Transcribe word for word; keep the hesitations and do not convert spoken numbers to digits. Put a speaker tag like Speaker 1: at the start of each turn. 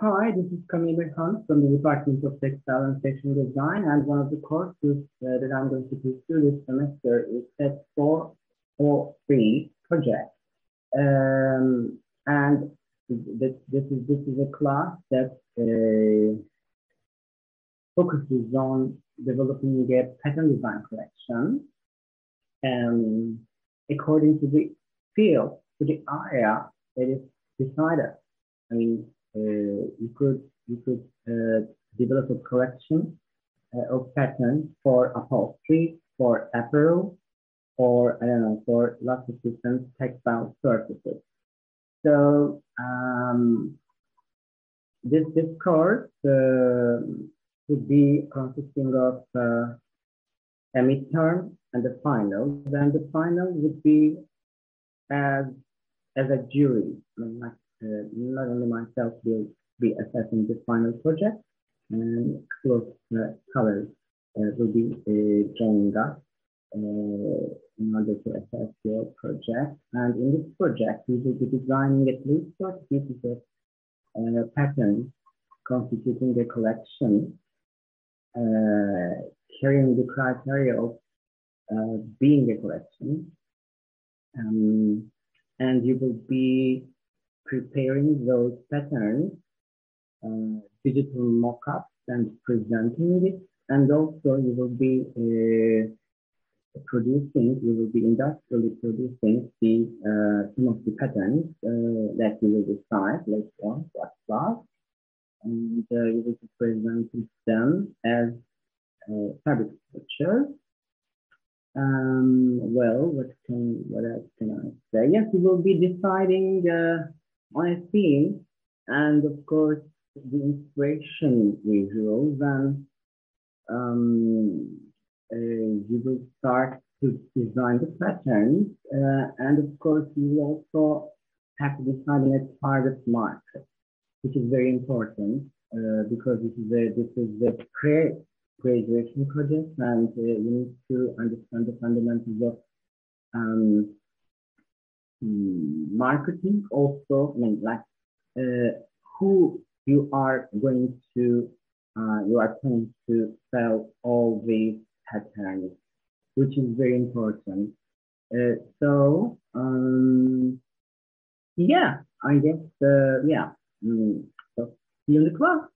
Speaker 1: Hi, this is Camille Khan from the Department of Textile and Fashion Design, and one of the courses uh, that I'm going to pursue this semester is S E T four oh three project. Um, and this, this, is, this is a class that uh, focuses on developing a pattern design collection um, according to the field, to the area that is decided. I mean, uh, you could you could uh, develop a collection uh, of patterns for upholstery, for apparel, or I don't know, for lots of different textile surfaces. So um, this this course uh, would be consisting of uh, a midterm and the final. Then the final would be as as a jury. I mean, like, uh, not only myself will be assessing the final project, and a couple of uh, colors uh, will be uh, joining us uh, in order to assess your project. And in this project, we will be designing at least forty pieces of uh, patterns constituting a collection, uh, carrying the criteria of uh, being a collection. Um, and you will be preparing those patterns, uh, digital mock-ups and presenting it, and also you will be uh, producing, you will be industrially producing the uh, some of the patterns uh, that you will decide later on what class, and uh, you will be presenting them as uh, fabric structure. Um, well, what can what else can I say? Yes, we will be deciding uh, on a theme, and of course the inspiration visuals, and um, uh, you will start to design the patterns, uh, and of course you will also have to decide on a target market, which is very important uh, because this is a this is a pre graduation project, and uh, you need to understand the fundamentals of um, marketing. Also, I mean, like uh, who you are going to, uh, you are planning to sell all these patterns, which is very important. Uh, so, um, yeah, I guess, uh, yeah. Mm, so see you in the class.